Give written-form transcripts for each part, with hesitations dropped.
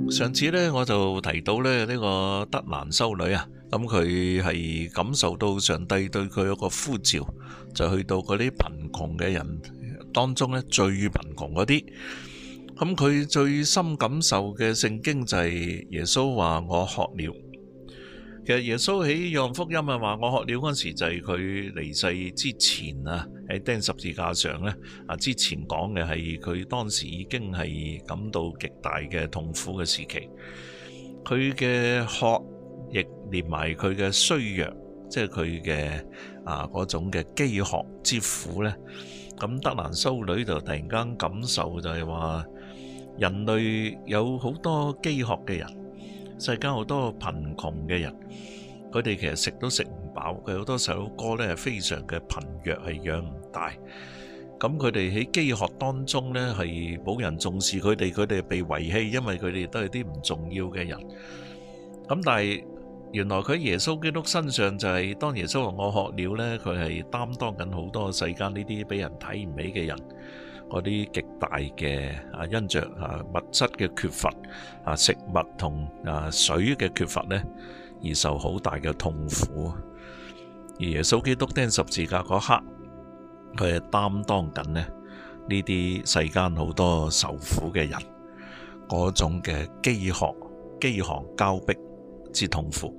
上次呢，我就提到呢個德蘭修女啊，咁佢係感受到上帝對佢有個呼召，就去到嗰啲貧窮嘅人當中呢，最貧窮嗰啲。咁佢最深感受嘅聖經就係耶穌話我渴了。其實耶穌喺約翰福音啊話我渴了嗰時就係佢離世之前啊，喺釘十字架上呢，之前講嘅係佢當時已經係感到極大嘅痛苦嘅時期，佢嘅渴亦連埋佢嘅衰弱，即係佢嘅嗰種嘅飢渴之苦呢。咁德蘭修女就突然間感受就係話人類有好多飢渴嘅人。世間好多貧窮嘅人，佢哋其實食都食唔飽，佢好多首歌呢係非常嘅貧弱，係養唔大。咁佢哋喺飢渴當中呢係冇人重視佢哋，佢哋被遺棄，因為佢哋都係啲唔重要嘅人。咁但係原來佢喺耶穌基督身上就係當耶穌話我渴了呢，佢係擔當緊好多世間呢啲俾人睇唔起嘅人。嗰啲極大嘅因着物質嘅缺乏食物同水嘅缺乏呢，而受好大嘅痛苦。而耶穌基督釘十字架嗰刻，佢係擔當緊呢啲世間好多受苦嘅人嗰種嘅飢渴、飢寒交迫之痛苦。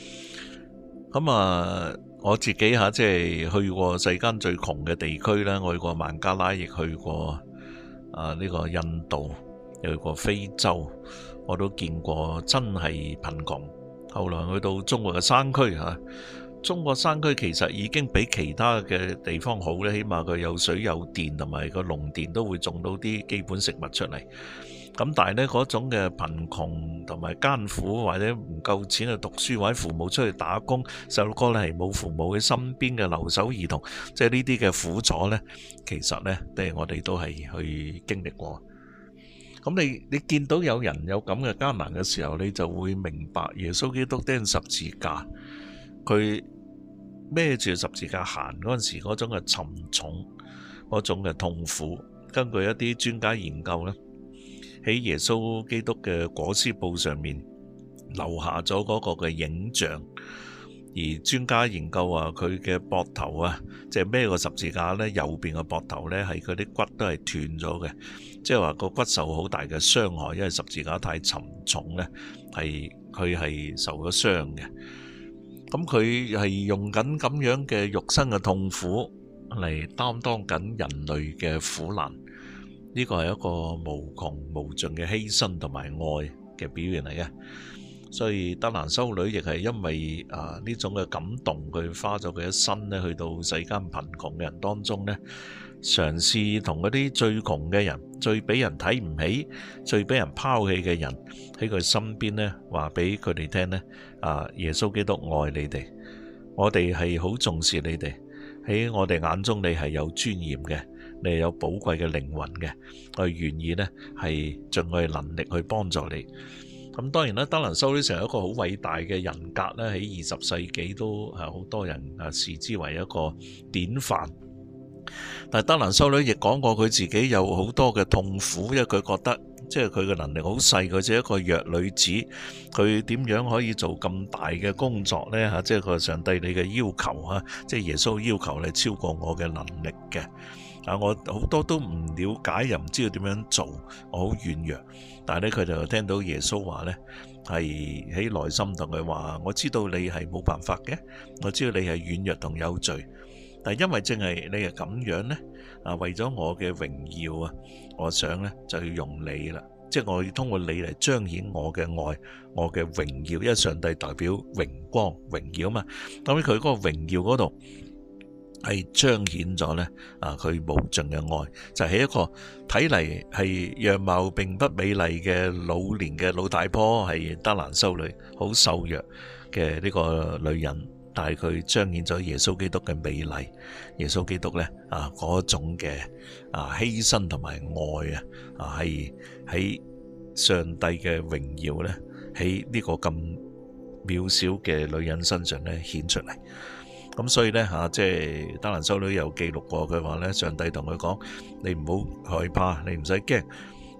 咁我自己即係去過世間最窮嘅地區啦，我去過孟加拉，亦去過呢個印度，又去過非洲，我都見過真係貧窮。後來去到中國嘅山區中國山區其實已經比其他嘅地方好咧，起碼佢有水有電，同埋個農田都會種到啲基本食物出嚟。咁但係呢嗰種嘅貧窮同埋艱苦，或者唔夠錢去讀書，或者父母出去打工，細路哥呢係冇父母喺身邊嘅留守兒童，即係呢啲嘅苦楚呢，其實呢，我哋都係去經歷過。咁你見到有人有咁嘅艱難嘅時候，你就會明白耶穌基督釘十字架，佢孭住十字架行嗰陣時嗰種嘅沉重，嗰種嘅痛苦。根據一啲專家研究呢，喺耶穌基督嘅裹屍布上面留下咗嗰個嘅影像，而專家研究話佢嘅膊頭即係孭個十字架呢，右邊嘅膊頭呢係佢啲骨都係斷咗嘅，即係話個骨受好大嘅傷害，因為十字架太沉重呢，佢係受咗傷嘅。咁佢係用緊咁樣嘅肉身嘅痛苦嚟擔當緊人類嘅苦難。呢個係一個無窮無盡嘅犧牲同埋愛嘅表現嚟嘅，所以德蘭修女亦係因為呢種嘅感動，佢花咗佢一生呢去到世間貧窮嘅人當中呢，嘗試同嗰啲最窮嘅人、最俾人睇唔起、最俾人拋棄嘅人喺佢身邊呢，話俾佢哋聽呢，耶穌基督愛你哋，我哋係好重視你哋，喺我哋眼中你係有尊嚴嘅。你係有寶貴嘅靈魂嘅，我願意呢係盡我嘅能力去幫助你。咁當然啦，德蘭修女成為一個好偉大嘅人格呢，喺20世紀都係好多人視之為一個典範。但係德蘭修女亦講過佢自己有好多嘅痛苦，因為佢覺得即係佢嘅能力好細，佢只係一個弱女子，佢點樣可以做咁大嘅工作呢？即係佢上帝你嘅要求即係耶穌要求你超過我嘅能力嘅。我好多都唔了解，又唔知道點樣做，我好軟弱。但係咧，佢就聽到耶穌話呢，係喺內心同佢話：我知道你係冇辦法嘅，我知道你係軟弱同有罪。但係因為正係你係咁樣呢，為咗我嘅榮耀我想呢就要用你啦，即係我要通過你嚟彰顯我嘅愛，我嘅榮耀。因為上帝代表榮光、榮耀嘛，咁佢嗰個榮耀嗰度，係彰顯咗呢佢無盡嘅愛，就係一個睇嚟係樣貌並不美麗嘅老年嘅老大婆，係德蘭修女，好瘦弱嘅呢個女人，但係佢彰顯咗耶穌基督嘅美麗，耶穌基督呢嗰種嘅犧牲同埋愛係喺上帝嘅榮耀呢，喺呢個咁渺小嘅女人身上呢顯出嚟。咁所以呢，即係德蘭修女有記錄過，佢話呢，上帝同佢講：你唔好害怕，你唔使驚，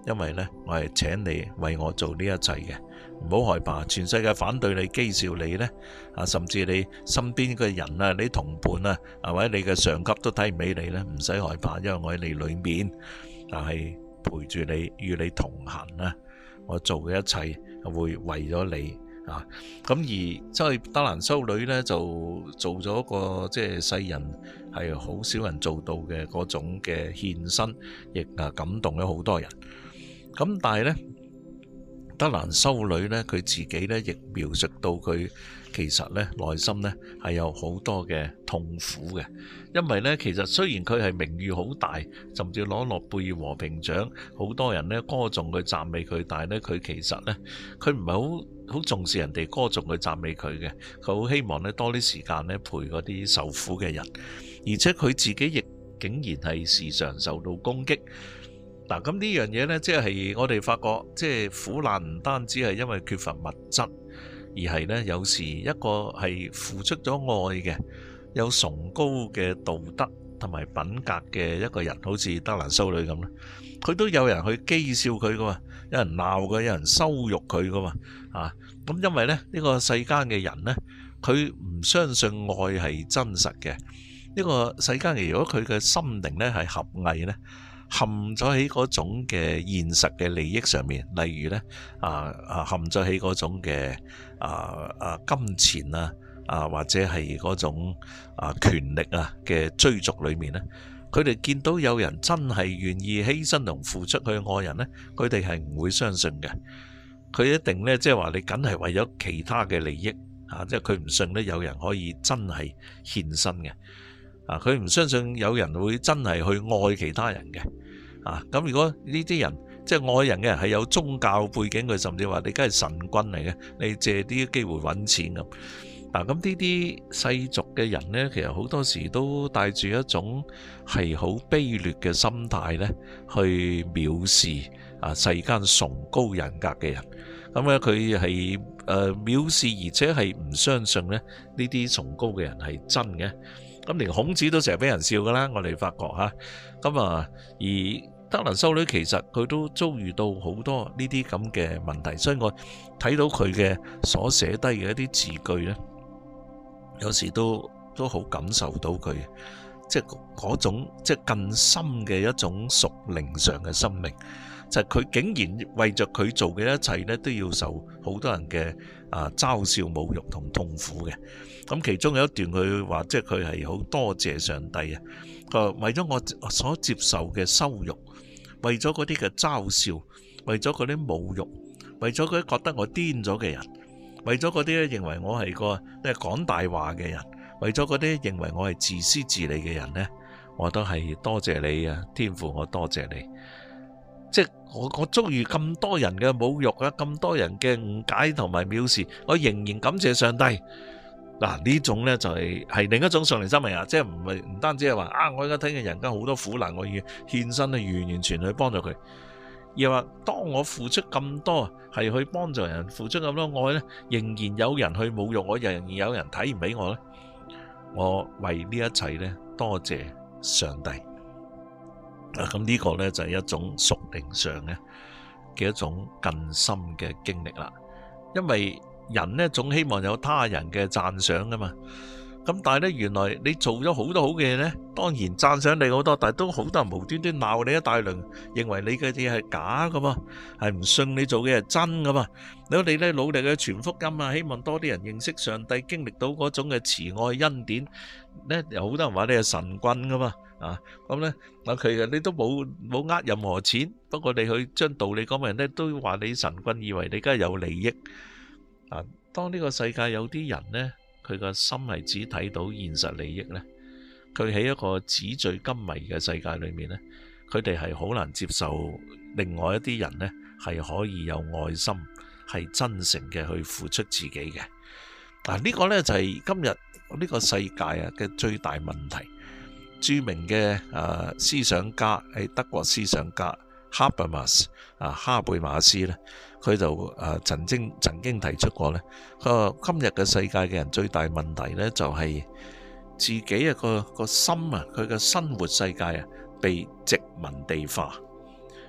因為呢，我係請你為我做呢一切嘅，唔好害怕。全世界反對你、譏笑你呢，甚至你身邊嘅人啊、你同伴啊，或者你嘅上級都睇唔起你呢，唔使害怕，因為我喺你裏面，但係陪住你，與你同行啊。我做嘅一切會為咗你啊。咁而即係德蘭修女呢，就做咗一個即係世人係好少人做到嘅嗰種嘅獻身，亦感動咗好多人。咁但係呢，德蘭修女呢，佢自己呢亦描述到佢其實呢內心呢係有好多嘅痛苦嘅，因為呢其實雖然佢係名譽好大，甚至攞諾貝爾和平獎，好多人呢歌頌佢、讚美佢，但係呢佢其實呢佢唔係好重視人哋歌頌佢、讚美佢嘅，佢好希望呢多啲時間呢陪嗰啲受苦嘅人，而且佢自己亦竟然係時常受到攻擊。嗱，咁呢樣嘢呢，即係我哋發覺，即係苦難唔單止係因為缺乏物質，而係呢有時一個係付出咗愛嘅、有崇高嘅道德同埋品格嘅一個人，好似德蘭修女咁咧，佢都有人去譏笑佢噶嘛，有人鬧佢，有人羞辱佢噶嘛，咁因為呢個世間嘅人呢，佢唔相信愛係真實嘅，呢個世間嘅如果佢嘅心靈呢係狹隘呢，陷咗喺嗰種嘅現實嘅利益上面，例如呢陷咗喺嗰種嘅金錢或者係嗰種權力嘅追逐裏面呢，佢哋見到有人真係願意犧牲同付出去愛人呢，佢哋係唔會相信嘅。佢一定呢，即係話你梗係為咗其他嘅利益即係佢唔信呢有人可以真係獻身嘅。佢唔相信有人會真係去愛其他人嘅。咁如果呢啲人即係愛人嘅人係有宗教背景，佢甚至話你梗係神棍嚟嘅，你借啲機會揾錢咁。咁呢啲世俗嘅人呢，其實好多時都帶住一種係好卑劣嘅心態呢，去藐視世間崇高人格嘅人。咁咧佢係藐視，而且係唔相信呢啲崇高嘅人係真嘅。咁連孔子都成日俾人笑噶啦，我哋發覺咁而德蘭修女其實佢都遭遇到好多呢啲咁嘅問題，所以我睇到佢嘅所寫低嘅一啲字句呢，有時都好感受到佢即係嗰種即係更深嘅一種屬靈上嘅生命，就係佢竟然為着佢做嘅一切呢，都要受好多人嘅嘲笑、侮辱同痛苦嘅。咁其中有一段佢話，即係佢係好多謝上帝啊！佢話為咗我所接受嘅羞辱，為咗嗰啲嘅嘲笑，為咗嗰啲侮辱，為咗嗰啲覺得我癲咗嘅人，為咗嗰啲認為我係個即係講大話嘅人，為咗嗰啲認為我係自私自利嘅人呢，我都係多謝你啊！天父，我多謝你。即係我遭遇咁多人嘅侮辱咁多人嘅誤解同埋藐視，我仍然感謝上帝。呢種呢就係另一種屬靈生命即係唔單止係話我而家睇見人間好多苦難，我要獻身去完全去幫助佢，而話當我付出咁多係去幫助人，付出咁多愛呢，仍然有人去侮辱我，仍然有人睇唔起我呢，我為呢一切呢多謝上帝。咁呢個呢就係一種屬靈上嘅一種更深嘅經歷啦，因為人呢總希望有他人嘅讚賞噶嘛，咁但係呢，原來你做咗好多好嘅嘢呢，當然讚賞你好多，但係都好多人無端端鬧你一大輪，認為你嘅嘢係假噶嘛，係唔信你做嘅係真噶嘛。如果你呢努力去傳福音希望多啲人認識上帝，經歷到嗰種嘅慈愛恩典呢，有好多人話你係神棍噶嘛，咁呢佢你都冇呃任何錢，不過你去將道理講嘅人呢，都話你神棍，以為你梗係有利益。當呢個世界有啲人呢，佢個心係只睇到現實利益呢，佢喺一個紙醉金迷嘅世界裏面呢，佢哋係好難接受另外一啲人呢係可以有愛心，係真誠嘅去付出自己嘅。呢個呢就係今日呢個世界嘅最大問題。著名嘅思想家係德國思想家哈貝馬斯呢，佢就曾經提出過呢，佢話今日嘅世界嘅人最大問題呢，就係自己個心佢嘅生活世界被殖民地化，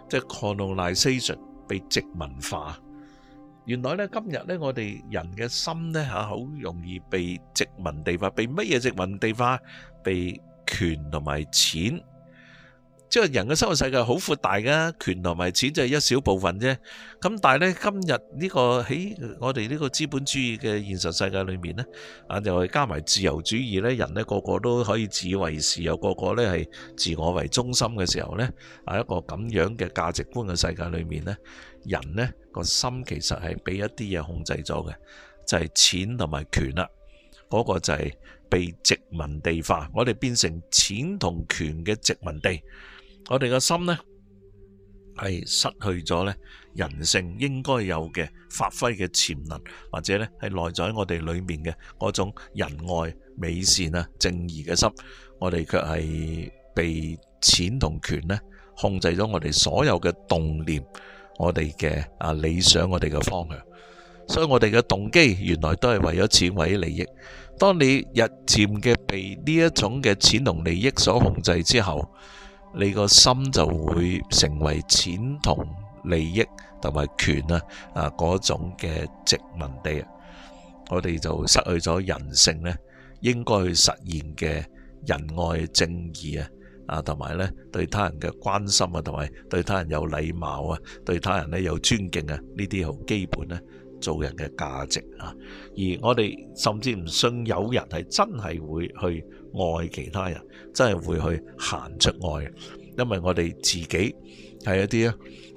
即係 colonization 被殖民化。原來咧今日咧我哋人嘅心咧好容易被殖民地化，被乜嘢殖民地化？被權同埋錢。即係人嘅生活世界好闊大噶，權同埋錢就係一小部分啫。咁但係咧今日呢個喺我哋呢個資本主義嘅現實世界裏面咧，就係加埋自由主義咧，人咧個個都可以自以為是，又個個咧係自我為中心嘅時候咧，一個咁樣嘅價值觀嘅世界裏面咧，人咧個心其實係俾一啲嘢控制咗嘅，就係錢同埋權啦。嗰個就係被殖民地化，我哋變成錢同權嘅殖民地。我哋個心呢係失去咗呢人性應該有嘅發揮嘅潛能，或者呢係內在喺我哋裏面嘅嗰種仁愛、美善啊、正義嘅心，我哋卻係被錢同權呢控制咗我哋所有嘅動念，我哋嘅理想，我哋嘅方向。所以我哋嘅動機原來都係為咗錢，為咗利益。當你日漸嘅被呢一種嘅錢同利益所控制之後，你個心就會成為錢同利益同埋權嗰種嘅殖民地。我哋就失去咗人性呢應該去實現嘅仁愛正義同埋呢對他人嘅關心同埋對他人有禮貌對他人呢有尊敬呢啲好基本呢做人嘅價值而我哋甚至唔信有人係真係會去愛其他人，真係會去行出愛，因為我哋自己係一啲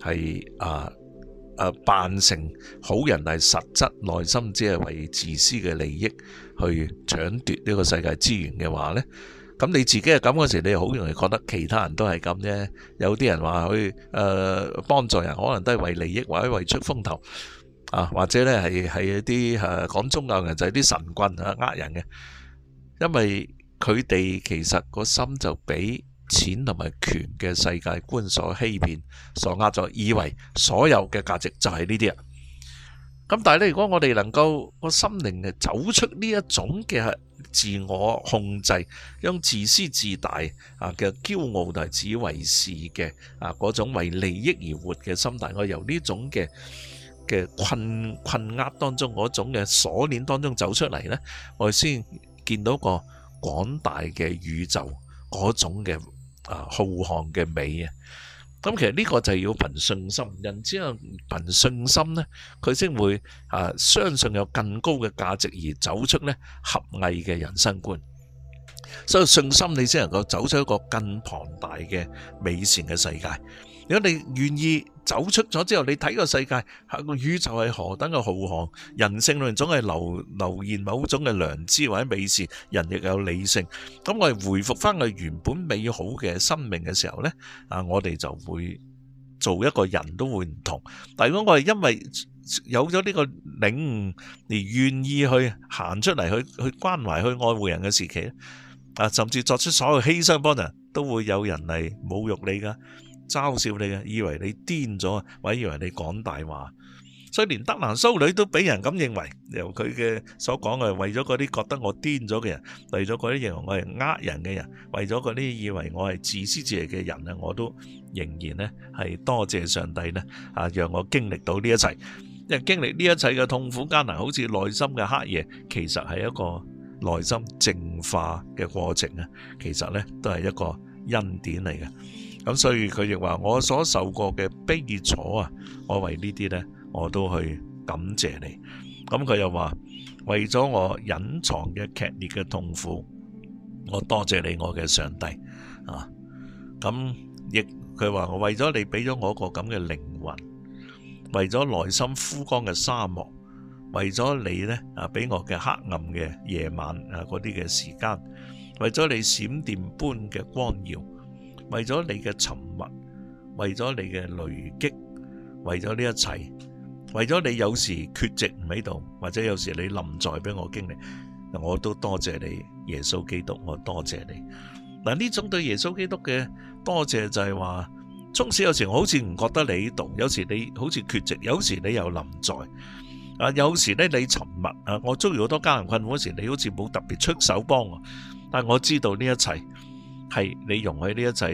係扮成好人，但係實質內心只係為自私嘅利益去搶奪呢個世界資源嘅話呢，咁你自己係咁嗰時，你好容易覺得其他人都係咁啫。有啲人話去幫助人，可能都係為利益或者為出風頭。或者咧係一啲講宗教人就係啲神棍呃人嘅，因為佢哋其實個心就俾錢同埋權嘅世界觀所欺騙、所呃咗，以為所有嘅價值就係呢啲啊。咁但係咧，如果我哋能夠個心靈走出呢一種嘅自我控制，將自私自大嘅驕傲同埋自以為是嘅嗰種為利益而活嘅心態，我由呢種嘅困厄當中嗰種嘅鎖鏈當中走出嚟呢，我哋先見到個廣大嘅宇宙嗰種嘅浩瀚嘅美啊！咁其實呢個就係要憑信心，人只有憑信心呢，佢先會相信有更高嘅價值而走出呢合藝嘅人生觀。所以信心你先能夠走出一個更龐大嘅美善嘅世界。如果你願意走出咗之後，你睇個世界，個宇宙係何等嘅浩瀚，人性裏面總係流現某種嘅良知或者美善，人亦有理性。咁我哋回復翻佢原本美好嘅生命嘅時候呢，我哋就會做一個人都會唔同。但如果我哋因為有咗呢個領悟而願意去行出嚟，去關懷、去愛護人嘅時期，甚至作出所有犧牲幫人，都會有人嚟侮辱你噶。嘲笑你嘅，以為你癲咗，或者以為你講大話，所以連德蘭修女都俾人咁認為。由佢嘅所講嘅，為咗嗰啲覺得我癲咗嘅人，為咗嗰啲認為我係呃人嘅人，為咗嗰啲以為我係自私自利嘅人啊，我都仍然呢係多謝上帝呢讓我經歷到呢一切。因為經歷呢一切嘅痛苦艱難，好似內心嘅黑夜，其實係一個內心淨化嘅過程啊。其實呢都係一個恩典嚟嘅。咁所以佢亦話，我所受過嘅悲楚我為呢啲呢，我都去感謝你。咁佢又話，為咗我隱藏嘅劇烈嘅痛苦，我多謝你，我嘅上帝咁亦佢話，我為咗你俾咗我個咁嘅靈魂，為咗內心枯乾嘅沙漠，為咗你呢俾我嘅黑暗嘅夜晚嗰啲嘅時間，為咗你閃電般嘅光耀，為咗你嘅沉默，為咗你嘅雷擊，為咗呢一切，為咗你有時缺席唔喺度，或者有時你臨在俾我經歷，我都多謝你，耶穌基督，我多謝你。嗱，呢種對耶穌基督嘅多謝就係話，縱使有時我好似唔覺得你喺度，有時你好似缺席，有時你又臨在，有時咧你沉默，我遭遇好多艱難困苦嗰時，你好似冇特別出手幫我，但我知道呢一切係你容許呢一切呢，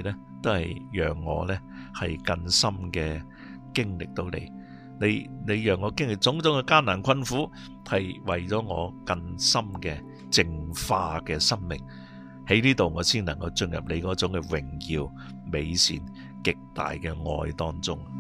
都係讓我呢係更深嘅經歷到你。你讓我經歷種種嘅艱難困苦，係為咗我更深嘅淨化嘅生命。喺呢度我先能夠進入你嗰種嘅榮耀、美善、極大嘅愛當中。